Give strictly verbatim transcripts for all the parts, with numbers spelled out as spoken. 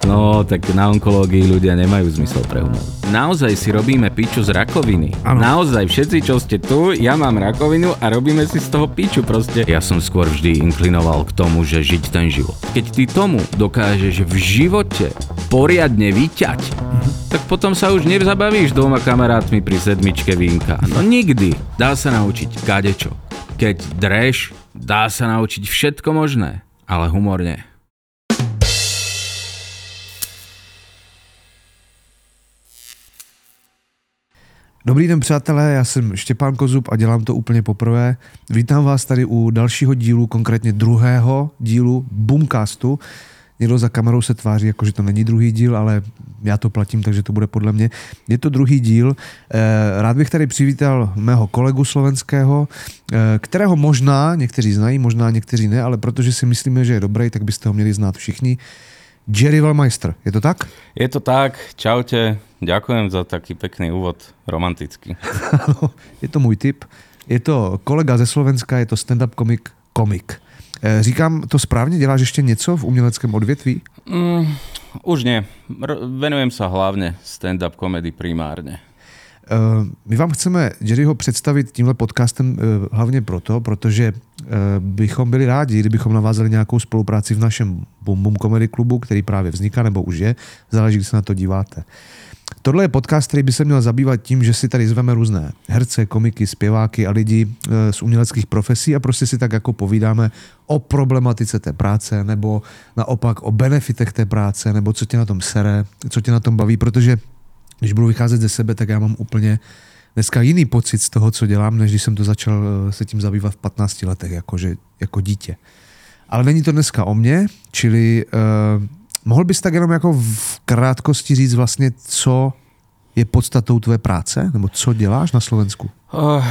No, tak na onkológii ľudia nemajú zmysel pre humor. Naozaj si robíme piču z rakoviny. Ano. Naozaj, všetci, čo ste tu, ja mám rakovinu a robíme si z toho piču proste. Ja som skôr vždy inklinoval k tomu, že žiť ten život. Keď ty tomu dokážeš v živote poriadne vyťať, mhm. tak potom sa už nezabavíš dvoma kamarátmi pri sedmičke vínka. No nikdy. Dá sa naučiť kadečo. Keď dreš, dá sa naučiť všetko možné, ale humor nie. Dobrý den, přátelé, já jsem Štěpán Kozub a dělám to úplně poprvé. Vítám vás tady u dalšího dílu, konkrétně druhého dílu Boomcastu. Někdo za kamerou se tváří, jako že to není druhý díl, ale já to platím, takže to bude podle mě. Je to druhý díl. Rád bych tady přivítal mého kolegu slovenského, kterého možná někteří znají, možná někteří ne, ale protože si myslíme, že je dobrý, tak byste ho měli znát všichni. Jerry Wellmeister, je to tak? Je to tak, čaute, ďakujem za taký pekný úvod, romantický. Je to můj tip, je to kolega ze Slovenska, je to stand-up komik, komik. Říkám to správně, děláš ještě něco v uměleckém odvětví? Mm, už nie, R- venujem sa hlavne stand-up komedy primárne. My vám chceme Jerryho představit tímhle podcastem hlavně proto, protože bychom byli rádi, kdybychom navázali nějakou spolupráci v našem Boom Boom Comedy klubu, který právě vzniká nebo už je, záleží, když se na to díváte. Tohle je podcast, který by se měl zabývat tím, že si tady zveme různé herce, komiky, zpěváky a lidi z uměleckých profesí a prostě si tak jako povídáme o problematice té práce nebo naopak o benefitech té práce nebo co tě na tom sere, co tě na tom baví, protože když budu vycházet ze sebe, tak já mám úplně dneska jiný pocit z toho, co dělám, než když jsem to začal se tím zabývat v patnácti letech, jakože, jako dítě. Ale není to dneska o mně, čili uh, mohl bys tak jenom jako v krátkosti říct vlastně, co je podstatou tvé práce, nebo co děláš na Slovensku? Uh,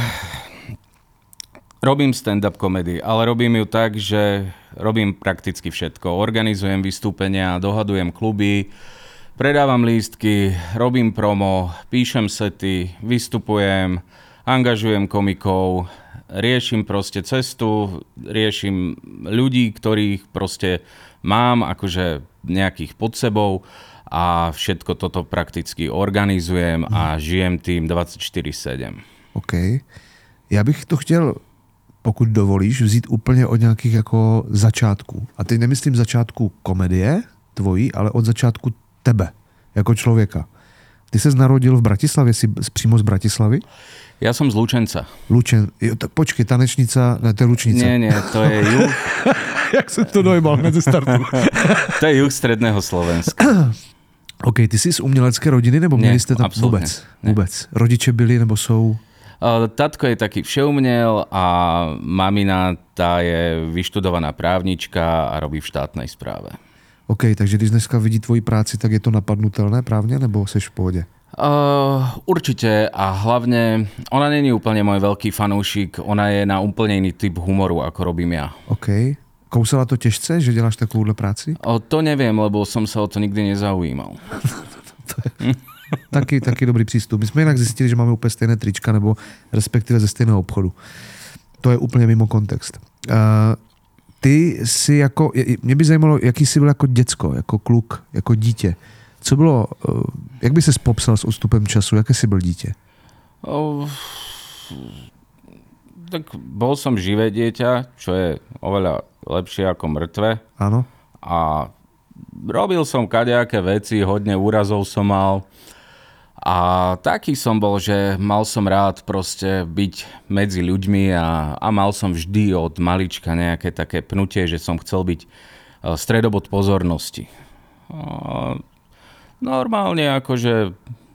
robím stand-up komedy, ale robím ju tak, že robím prakticky všetko. Organizujem vystúpenia, dohadujem kluby, predávam lístky, robím promo, píšem sety, vystupujem, angažujem komikov, riešim proste cestu, riešim ľudí, ktorých proste mám akože nejakých pod sebou a všetko toto prakticky organizujem a žijem tým dvadsaťštyri sedem. OK. Já bych to chtěl, pokud dovolíš, vzít úplně od nějakých jako začátků. A teď nemyslím začátku komedie tvojí, ale od začátku tebe, jako člověka. Ty ses narodil v Bratislavě, jsi přímo z Bratislavy? Ja som z Lučenca. Lučen, jo, tak počkej, tanečnica, ne, to je Lučnica. Nie, nie, to je juh. Jak jsem to dojmal hned ze startu. To je juh stredného Slovenska. OK, ty jsi z umělecké rodiny, nebo měli jste tam vůbec? Vůbec. Rodiče byli, nebo jsou? Tatko je taký všeuměl a mamina, tá je vyštudovaná právnička a robí v štátnej správe. OK, takže když dneska vidí tvoji práci, tak je to napadnutelné právně, nebo seš v pohodě? Uh, určite a hlavne ona není úplne môj veľký fanúšik, ona je na úplne iný typ humoru, ako robím ja. OK. Kousala to těžce, že děláš takovouhle práci? O, to neviem, lebo som sa o to nikdy nezaujímal. To je taky, taky dobrý přístup. My jsme jinak zjistili, že máme úplně stejné trička, nebo respektive ze stejného obchodu. To je úplně mimo kontext. Uh, ty jsi jako, mě by zajímalo, jaký jsi byl jako děcko, jako kluk, jako dítě. Co bylo, jak by ses popsal s odstupem času, jaké jsi byl dítě? Oh, tak bol som živé dieťa, čo je oveľa lepšie ako mŕtve. Áno. A robil som kadejaké veci, hodne úrazov som mal. A taký som bol, že mal som rád proste byť medzi ľuďmi a, a mal som vždy od malička nejaké také pnutie, že som chcel byť stredobod pozornosti. A normálne akože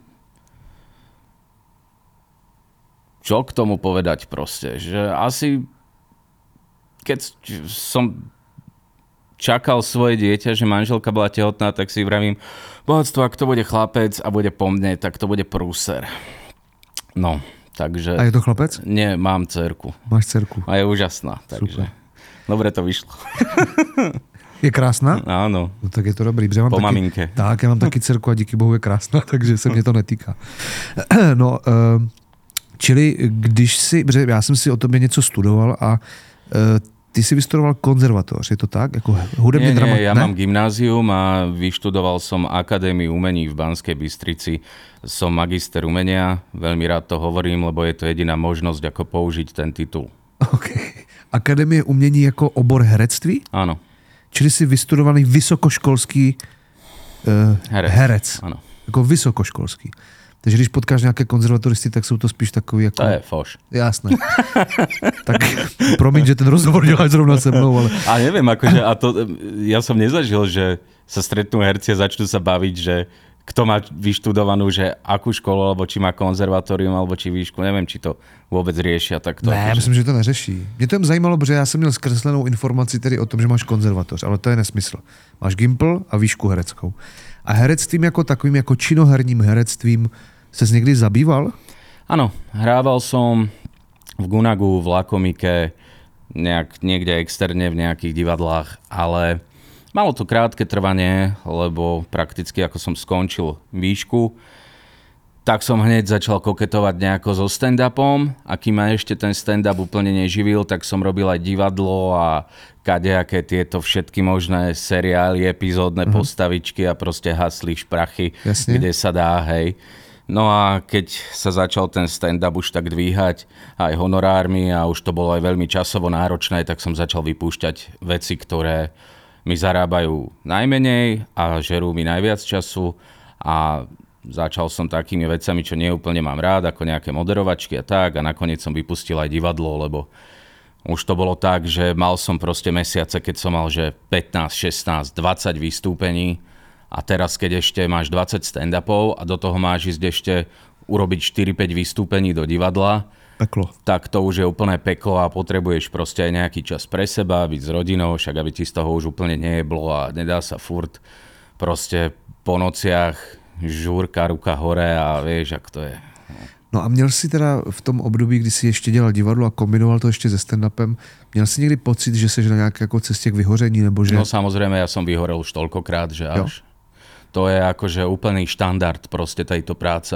čo k tomu povedať proste, že asi keď som čakal svoje dieťa, že manželka bola tehotná, tak si vravím, bohatstvo, ak to bude chlapec a bude po mne, tak to bude prúser. No, takže... A je to chlapec? Nie, mám dcerku. Máš dcerku. A je úžasná, takže... Super. Dobre to vyšlo. Je krásná? Áno. No tak je to dobrý. Mám po taky, maminke. Tak, já mám taky dcerku a díky bohu je krásná, takže se mě to netýká. No, čili když si, já jsem si o tobě něco studoval a ty si vystudoval konzervatoř, je to tak? Jako hudebně nie, drama... nie, ja ne? mám gymnázium a vyštudoval som Akadémiu umení v Banskej Bystrici. Som magister umenia, veľmi rád to hovorím, lebo je to jediná možnosť, ako použiť ten titul. Okay. Akademie umění jako obor herectví? Áno. Čili jsi vystudovaný vysokoškolský uh, Herec. herec. Áno. Jako vysokoškolský. Takže když potkáš nějaké konzervatoristy, tak jsou to spíš takový jako... To je foš. Jasné. Tak promiň, že ten rozhovor děláš zrovna se mnou, ale... A neviem, akože, a to, ja som nezažil, že sa stretnú herci a začnú sa baviť, že kto má vyštudovanú, že akú školu, alebo či má konzervatórium, alebo či výšku, neviem, či to vôbec riešia takto. Ne, myslím, že to neřeší. Mě to jen zajímalo, protože já jsem měl zkreslenou informaci tedy o tom, že máš konzervatoř, ale to je nesmysl. Máš Gimpl a výšku hereckou. A herectvím jako takovým, jako činoherním herectvím ses někdy zabýval? Áno, hrával som v Gunagu, v Lakomike, nejak, niekde externe v nejakých divadlách, ale malo to krátke trvanie, lebo prakticky ako som skončil výšku, tak som hneď začal koketovať nejako so stand-upom a kým ma ešte ten stand-up úplne neživil, tak som robil aj divadlo a kadejaké tieto všetky možné seriály, epizódne mm-hmm. postavičky a proste hasli šprachy, Jasne. kde sa dá, hej. No a keď sa začal ten stand-up už tak dvíhať aj honorármi a už to bolo aj veľmi časovo náročné, tak som začal vypúšťať veci, ktoré mi zarábajú najmenej a žerú mi najviac času a začal som takými vecami, čo neúplne mám rád, ako nejaké moderovačky a tak a nakoniec som vypustil aj divadlo, lebo už to bolo tak, že mal som proste mesiace, keď som mal že pätnásť, šestnásť, dvadsať vystúpení a teraz keď ešte máš dvadsať stand-upov a do toho máš ísť ešte urobiť štyri päť vystúpení do divadla, Peklo. tak to už je úplné peklo a potrebuješ proste aj nejaký čas pre seba, byť s rodinou, však aby ti z toho už úplne nejeblo a nedá sa furt proste po nociach žúrka, ruka hore a vieš, jak to je. No a měl jsi teda v tom období, kdy jsi ještě dělal divadlo a kombinoval to ještě se stand-upem, měl jsi někdy pocit, že jsi na nějaké jako cestě k vyhoření, nebo že... No samozrejme, ja som vyhorel už toľkokrát, že až... Jo. To je akože úplný štandard proste tejto práce.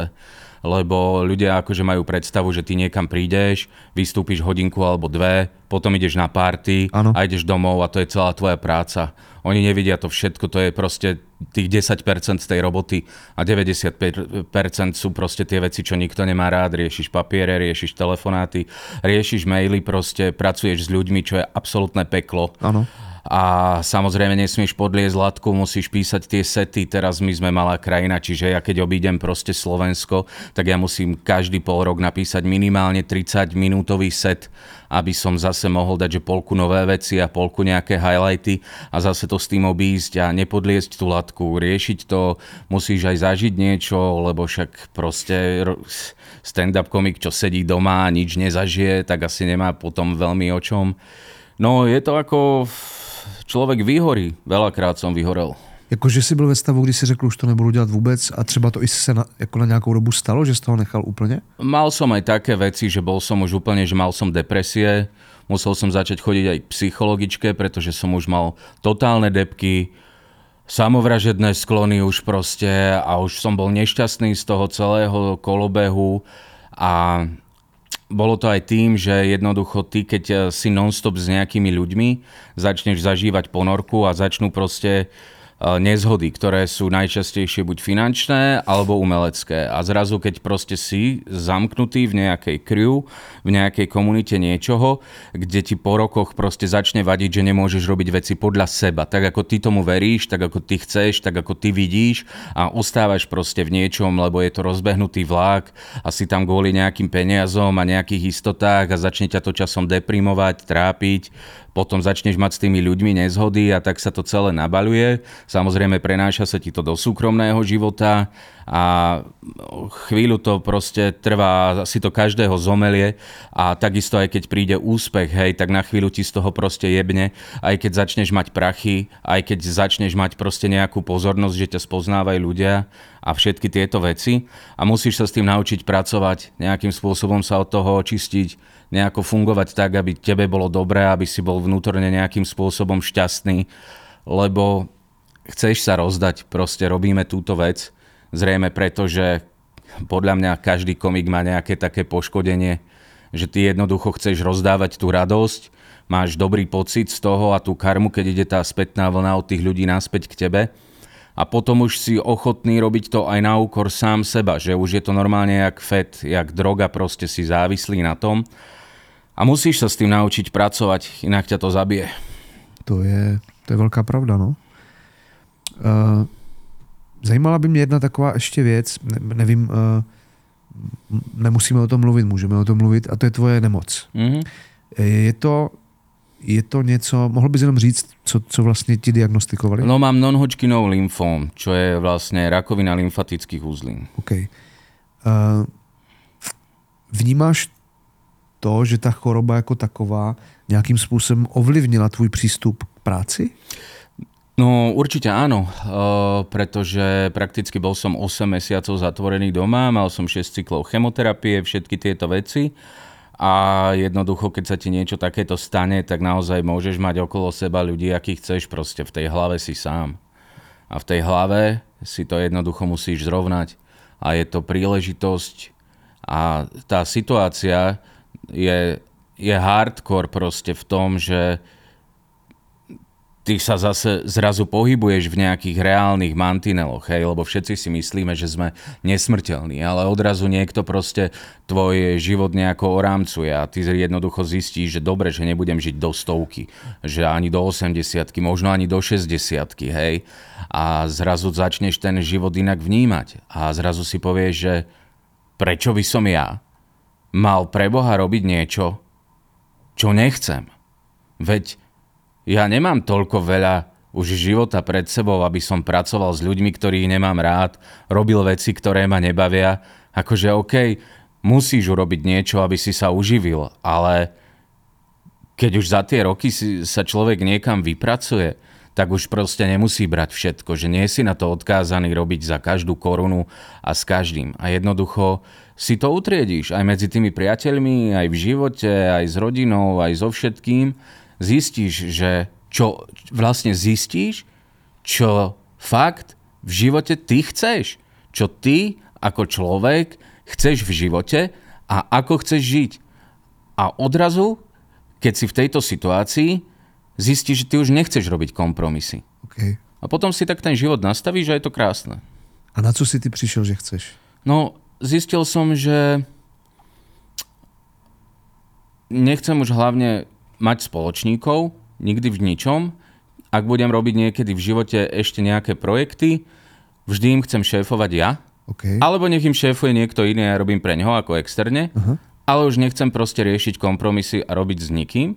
Lebo ľudia akože majú predstavu, že ty niekam prídeš, vystúpiš hodinku alebo dve, potom ideš na party ano. A ideš domov a to je celá tvoja práca. Oni nevidia to všetko, to je proste tých desať percent z tej roboty a deväťdesiatpäť percent sú proste tie veci, čo nikto nemá rád. Riešiš papiere, riešiš telefonáty, riešiš maily, proste pracuješ s ľuďmi, čo je absolútne peklo. Áno. A samozrejme nesmieš podliezť latku, musíš písať tie sety, teraz my sme malá krajina, čiže ja keď obídem proste Slovensko, tak ja musím každý pol rok napísať minimálne tridsať minútový set, aby som zase mohol dať, že polku nové veci a polku nejaké highlighty a zase to s tým obísť a nepodliezť tú latku, riešiť to, musíš aj zažiť niečo, lebo však proste stand-up komik, čo sedí doma a nič nezažije, tak asi nemá potom veľmi o čom. No je to ako... Člověk vyhorí. Veľakrát som vyhorel. Jakože jsi byl ve stavu, kdy si řekl, už to nebudu dělat vůbec a třeba to i se na, jako na nějakou dobu stalo, že jsi toho nechal úplně? Mal som aj také veci, že bol som už úplne, že mal som depresie. Musel som začať chodiť aj k psychologičke, pretože som už mal totálne depky, samovražedné sklony už proste a už som bol nešťastný z toho celého kolobehu a bolo to aj tým, že jednoducho ty, keď si non-stop s nejakými ľuďmi, začneš zažívať ponorku a začnú proste nezhody, ktoré sú najčastejšie buď finančné alebo umelecké. A zrazu, keď proste si zamknutý v nejakej crew, v nejakej komunite niečoho, kde ti po rokoch proste začne vadiť, že nemôžeš robiť veci podľa seba. Tak ako ty tomu veríš, tak ako ty chceš, tak ako ty vidíš a ostávaš proste v niečom, lebo je to rozbehnutý vlák a si tam kvôli nejakým peniazom a nejakých istotách a začne ťa to časom deprimovať, trápiť. Potom začneš mať s tými ľuďmi nezhody a tak sa to celé nabaľuje. Samozrejme prenáša sa ti to do súkromného života a chvíľu to proste trvá, si to každého zomelie a takisto aj keď príde úspech, hej, tak na chvíľu ti z toho proste jebne, aj keď začneš mať prachy, aj keď začneš mať proste nejakú pozornosť, že ťa spoznávajú ľudia a všetky tieto veci a musíš sa s tým naučiť pracovať, nejakým spôsobom sa od toho očistiť, nejako fungovať tak, aby tebe bolo dobré, aby si bol vnútorne nejakým spôsobom šťastný, lebo chceš sa rozdať, proste robíme túto vec, zrejme preto, že podľa mňa každý komik má nejaké také poškodenie, že ty jednoducho chceš rozdávať tú radosť, máš dobrý pocit z toho a tú karmu, keď ide tá spätná vlna od tých ľudí naspäť k tebe. A potom už si ochotný robiť to aj na úkor sám seba, že už je to normálne jak fet, jak droga, proste si závislý na tom. A musíš sa s tým naučiť pracovať, inak ťa to zabije. To je, to je velká pravda, no. Uh, zajímala by mě jedna taková ještě věc, ne, nevím, uh, nemusíme o tom mluvit, můžeme o tom mluvit, a to je tvoje nemoc. Mm-hmm. Je to, je to něco, mohl bys jenom říct, co, co vlastně ti diagnostikovali? No mám non-Hodgkinov lymfóm, čo je vlastně rakovina lymfatických uzlín. OK. Uh, vnímáš to, že ta choroba jako taková nějakým způsobem ovlivnila tvůj přístup k práci? No určite áno, uh, pretože prakticky bol som osem mesiacov zatvorený doma, mal som šesť cyklov chemoterapie, všetky tieto veci a jednoducho, keď sa ti niečo takéto stane, tak naozaj môžeš mať okolo seba ľudí, akých chceš, proste v tej hlave si sám. A v tej hlave si to jednoducho musíš zrovnať a je to príležitosť a tá situácia je, je hardcore proste v tom, že ty sa zase zrazu pohybuješ v nejakých reálnych mantineloch, hej, lebo všetci si myslíme, že sme nesmrteľní, ale odrazu niekto proste tvoj život nejako orámcuje a ty jednoducho zistíš, že dobre, že nebudem žiť do stovky, že ani do osemdesiatky, možno ani do šesťdesiatky, hej, a zrazu začneš ten život inak vnímať a zrazu si povieš, že prečo by som ja mal pre Boha robiť niečo, čo nechcem. Veď ja nemám toľko veľa už života pred sebou, aby som pracoval s ľuďmi, ktorých nemám rád, robil veci, ktoré ma nebavia. Akože OK, musíš urobiť niečo, aby si sa uživil, ale keď už za tie roky si, sa človek niekam vypracuje, tak už proste nemusí brať všetko, že nie si na to odkázaný robiť za každú korunu a s každým. A jednoducho si to utriedíš aj medzi tými priateľmi, aj v živote, aj s rodinou, aj so všetkým. Zistíš, že čo vlastne zistíš, čo fakt v živote ty chceš. Čo ty ako človek chceš v živote a ako chceš žiť. A odrazu, keď si v tejto situácii, zistíš, že ty už nechceš robiť kompromisy. Okay. A potom si tak ten život nastavíš a je to krásne. A na co si ty prišiel, že chceš? No, zistil som, že nechcem už hlavne mať spoločníkov, nikdy v ničom. Ak budem robiť niekedy v živote ešte nejaké projekty, vždy im chcem šéfovať ja, okay. Alebo nech im šéfuje niekto iný a ja robím pre ňoho ako externe, uh-huh. Ale už nechcem proste riešiť kompromisy a robiť s nikým.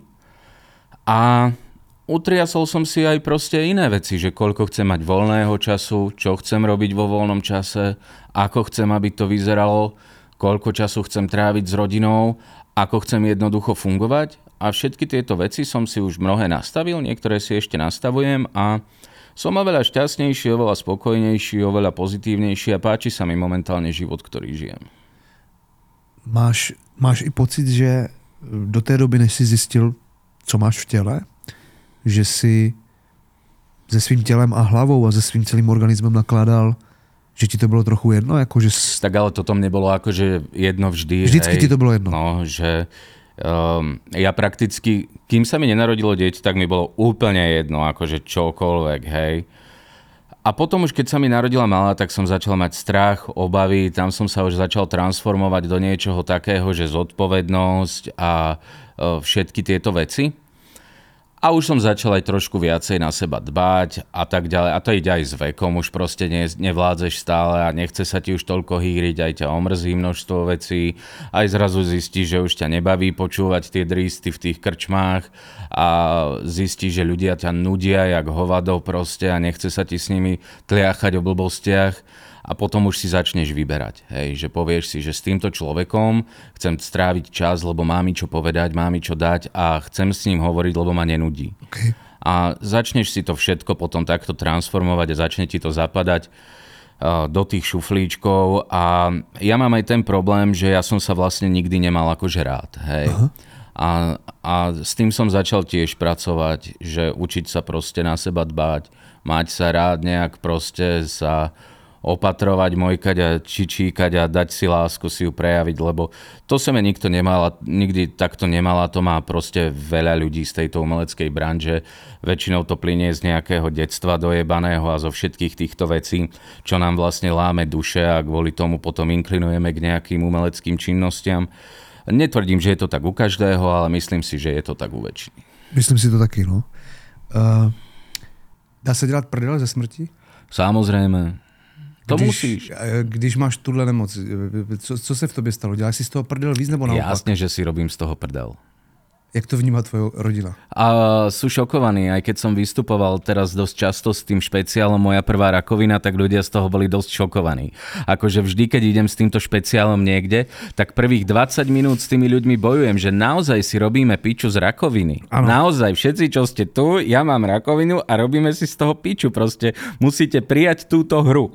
A utriasol som si aj proste iné veci, že koľko chcem mať voľného času, čo chcem robiť vo voľnom čase, ako chcem, aby to vyzeralo, koľko času chcem tráviť s rodinou, ako chcem jednoducho fungovať. A všetky tieto veci som si už mnohé nastavil, niektoré si ešte nastavujem a som oveľa šťastnejší, oveľa spokojnejší, oveľa pozitívnejší a páči sa mi momentálne život, ktorý žijem. Máš, máš i pocit, že do té doby, než si zistil, co máš v těle, že si se svým tělem a hlavou a se svým celým organismem nakládal, že ti to bylo trochu jedno? Jako, že... Tak ale toto mne bolo akože jedno vždy. Vždycky hej, ti to bylo jedno? No, že... Um, ja prakticky, kým sa mi nenarodilo dieťa, tak mi bolo úplne jedno, akože čokoľvek, hej. A potom už keď sa mi narodila malá, tak som začal mať strach, obavy, tam som sa už začal transformovať do niečoho takého, že zodpovednosť a uh, všetky tieto veci. A už som začal aj trošku viacej na seba dbať a tak ďalej. A to ide aj s vekom, už proste ne, nevládzeš stále a nechce sa ti už toľko hýriť, aj ťa omrzí množstvo vecí. Aj zrazu zistíš, že už ťa nebaví počúvať tie dristy v tých krčmách a zistíš, že ľudia ťa nudia jak hovado proste a nechce sa ti s nimi tliachať o blbostiach. A potom už si začneš vyberať, hej, že povieš si, že s týmto človekom chcem stráviť čas, lebo má mi čo povedať, má mi čo dať a chcem s ním hovoriť, lebo ma nenudí. Okay. A začneš si to všetko potom takto transformovať a začne ti to zapadať uh, do tých šuflíčkov a ja mám aj ten problém, že ja som sa vlastne nikdy nemal akože rád, hej. Uh-huh. A, a s tým som začal tiež pracovať, že učiť sa proste na seba dbať, mať sa rád nejak proste sa opatrovať, mojkať a čičíkať a dať si lásku, si ju prejaviť, lebo to sa mi nikto nemal a nikdy takto nemal a to má proste veľa ľudí z tejto umeleckej branže. Väčšinou to plynie z nejakého detstva dojebaného a zo všetkých týchto vecí, čo nám vlastne láme duše a kvôli tomu potom inklinujeme k nejakým umeleckým činnostiam. Netvrdím, že je to tak u každého, ale myslím si, že je to tak u väčšiny. Myslím si to taky, no. Uh, dá se dělat prdel ze smrti? Samozrejme. To když, musíš. Když máš tuhle nemoc, co, co se v tobě stalo? Děláš si z toho prdel víc nebo naopak? Jasne, že si robím z toho prdel. Jak to vníma tvoja rodina? A sú šokovaní, aj keď som vystupoval teraz dosť často s tým špeciálom Moja prvá rakovina, tak ľudia z toho boli dosť šokovaní. Akože vždy, keď idem s týmto špeciálom niekde, tak prvých dvadsať minút s tými ľuďmi bojujem, že naozaj si robíme piču z rakoviny. Ano. Naozaj, všetci, čo ste tu, ja mám rakovinu a robíme si z toho piču. Proste musíte prijať túto hru.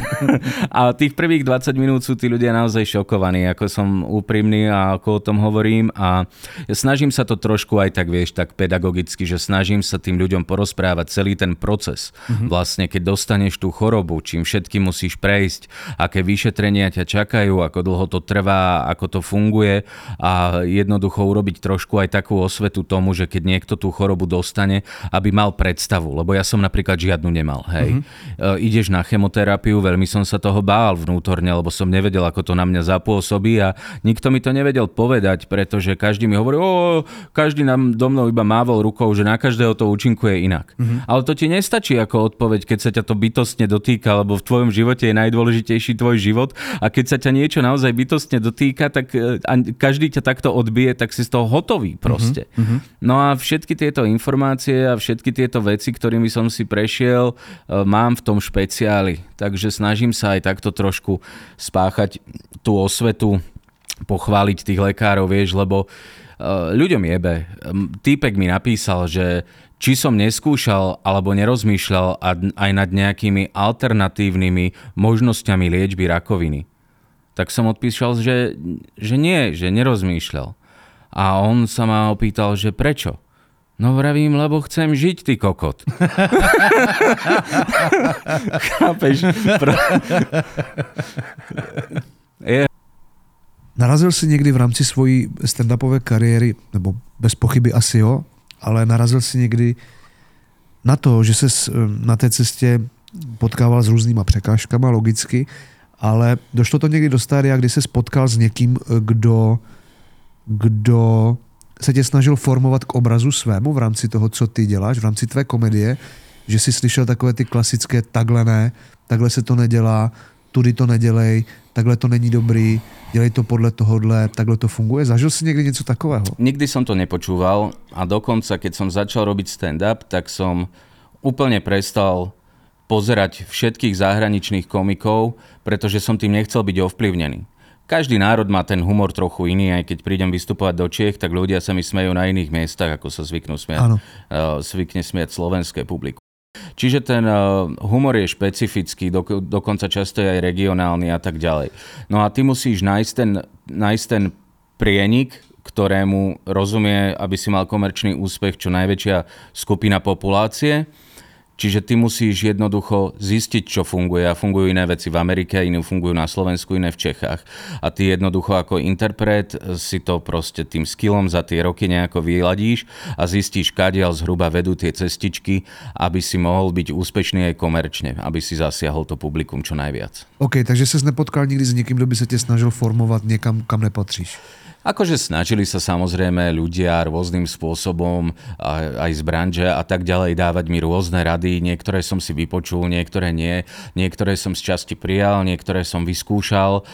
A tých prvých dvadsať minút sú tí ľudia naozaj šokovaní, ako som úprimný a ako o tom hovorím a snažím sa to trošku aj tak, vieš, tak pedagogicky, že snažím sa tým ľuďom porozprávať celý ten proces. Mm-hmm. Vlastne, keď dostaneš tú chorobu, čím všetkým musíš prejsť, aké vyšetrenia ťa čakajú, ako dlho to trvá, ako to funguje a jednoducho urobiť trošku aj takú osvetu tomu, že keď niekto tú chorobu dostane, aby mal predstavu, lebo ja som napríklad žiadnu nemal, hej. Mm-hmm. E, ideš na chemoterapiu, veľmi som sa toho bál vnútorne, lebo som nevedel, ako to na mňa zapôsobí a nikto mi to nevedel povedať, pretože každý mi hovorí, o, každý nám do mnou iba mávol rukou, že na každého to účinkuje inak. Mm-hmm. Ale to ti nestačí ako odpoveď, keď sa ťa to bytostne dotýka, lebo v tvojom živote je najdôležitejší tvoj život a keď sa ťa niečo naozaj bytostne dotýka, tak a každý ťa takto odbije, tak si z toho hotový proste. Mm-hmm. No a všetky tieto informácie a všetky tieto veci, ktorými som si prešiel, mám v tom špeciáli. Takže snažím sa aj takto trošku spáchať tú osvetu, pochváliť tých lekárov, vieš, lebo ľuďom jebe. Týpek mi napísal, že či som neskúšal alebo nerozmýšľal aj nad nejakými alternatívnymi možnosťami liečby rakoviny. Tak som odpísal, že, že nie, že nerozmýšľal. A on sa ma opýtal, že prečo? No vravím, lebo chcem žiť, ty kokot. Chápeš? Pro... Je... Narazil jsi někdy v rámci svojí stand-upové kariéry, nebo bez pochyby asi jo, ale narazil jsi někdy na to, že ses na té cestě potkával s různýma překážkama, logicky, ale došlo to někdy do stádia, kdy se spotkal s někým, kdo, kdo se tě snažil formovat k obrazu svému v rámci toho, co ty děláš, v rámci tvé komedie, že jsi slyšel takové ty klasické takhle ne, takhle se to nedělá, tudy to nedělej, takhle to není dobrý, dělej to podle tohohle, takhle to funguje. Zažil si niekdy niečo takového? Nikdy som to nepočúval a dokonca, keď som začal robiť stand-up, tak som úplne prestal pozerať všetkých zahraničných komikov, pretože som tým nechcel byť ovplyvnený. Každý národ má ten humor trochu iný, aj keď prídem vystupovať do Čiech, tak ľudia sa mi smejú na iných miestach, ako sa zvyknú smiať, uh, zvykne smiať slovenské publikum. Čiže ten uh, humor je špecifický, do, dokonca často je aj regionálny a tak ďalej. No a ty musíš nájsť ten, nájsť ten prienik, ktorému rozumie, aby si mal komerčný úspech čo najväčšia skupina populácie. Čiže ty musíš jednoducho zistiť, čo funguje. A fungujú iné veci v Amerike, iné fungujú na Slovensku, iné v Čechách. A ty jednoducho ako interpret si to proste tým skillom za tie roky nejako vyladíš a zistíš, kadiaľ zhruba vedú tie cestičky, aby si mohol byť úspešný aj komerčne, aby si zasiahol to publikum čo najviac. OK, takže ses nepotkal nikdy s niekým, kto by sa te snažil formovať niekam, kam nepatríš? Akože snažili sa samozrejme ľudia rôznym spôsobom, aj z branže a tak ďalej, dávať mi rôzne rady. Niektoré som si vypočul, niektoré nie. Niektoré som z časti prijal, niektoré som vyskúšal,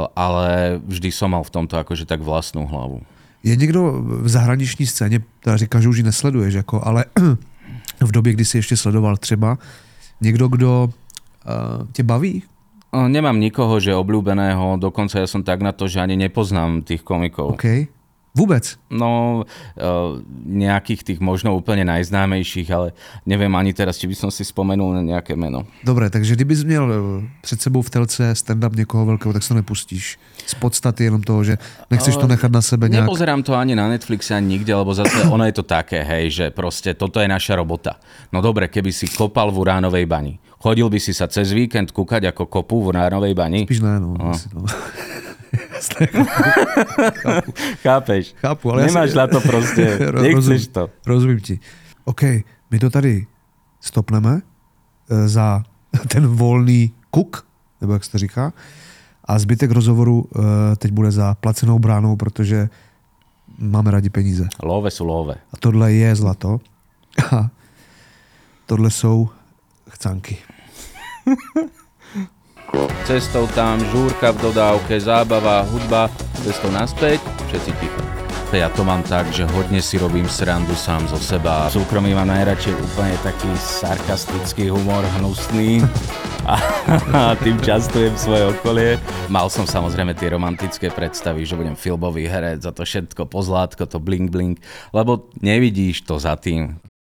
ale vždy som mal v tomto akože tak vlastnú hlavu. Je niekto v zahraniční scéně, teda říká, že už ji nesleduješ, jako, ale v době, kdy si ještě sledoval třeba, někdo, kdo uh, tě baví? Nemám nikoho, že obľúbeného, dokonca ja som tak na to, že ani nepoznám tých komikov. OK. Vôbec? No, nejakých tých možno úplne najznámejších, ale neviem ani teraz, či by som si spomenul na nejaké meno. Dobre, takže kdybys měl před sebou v telce stand-up někoho veľkého, tak si to nepustíš. Z podstaty jenom toho, že nechceš to nechat na sebe nejak... Nepozerám to ani na Netflixe, ani nikde, lebo zase ono je to také, hej, že proste toto je naša robota. No dobre, keby si kopal v uránovej bani. Chodil by si sa cez víkend kúkať ako kopu v Nárovej bani? Spíš ne, no. no. Asi, no. Chápu. Chápeš? Chápu, ale nemáš ja na to proste, nechceš to. Rozumím ti. OK, my to tady stopneme za ten volný kuk, nebo jak se to říká, a zbytek rozhovoru teď bude za placenou bránou, protože máme rádi peníze. Love sú love. A tohle je zlato. A tohle jsou chcanky. Cestou tam, žúrka v dodávke, zábava, hudba, cestou naspäť, všetci ticho. Ja to mám tak, že hodne si robím srandu sám zo seba. V súkromí mám najradšej úplne taký sarkastický humor, hnusný a, a tým častujem svoje okolie. Mal som samozrejme tie romantické predstavy, že budem filmový herec, za to všetko pozlátko, to bling bling, lebo nevidíš to za tým.